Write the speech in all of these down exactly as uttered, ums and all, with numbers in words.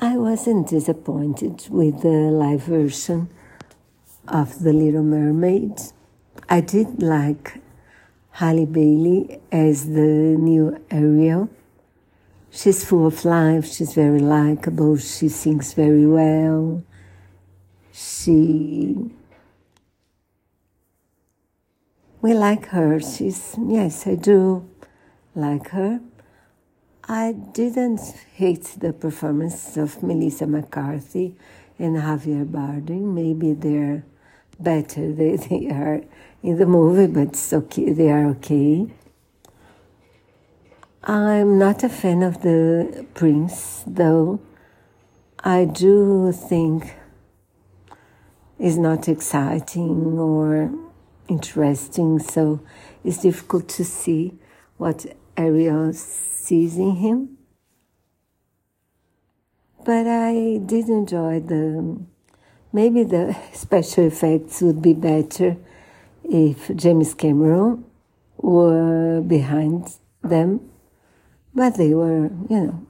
I wasn't disappointed with the live version of The Little Mermaid. I did like Halle Bailey as the new Ariel. She's full of life, she's very likable, she sings very well. She... We like her. She's, yes, I do like her. I didn't hate the performance of Melissa McCarthy and Javier Bardem. Maybe they're better than they are in the movie, but it's okay. They are okay. I'm not a fan of the Prince, though. I do think it's not exciting or interesting, so it's difficult to see what Ariel sees in him. But I did enjoy the... Maybe the special effects would be better if James Cameron were behind them, but they were, you know.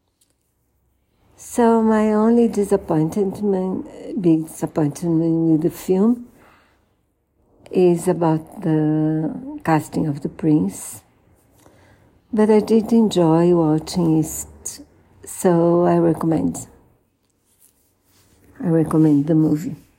So my only disappointment, big disappointment with the film is about the casting of the Prince. But I did enjoy watching it, so I recommend. I recommend the movie.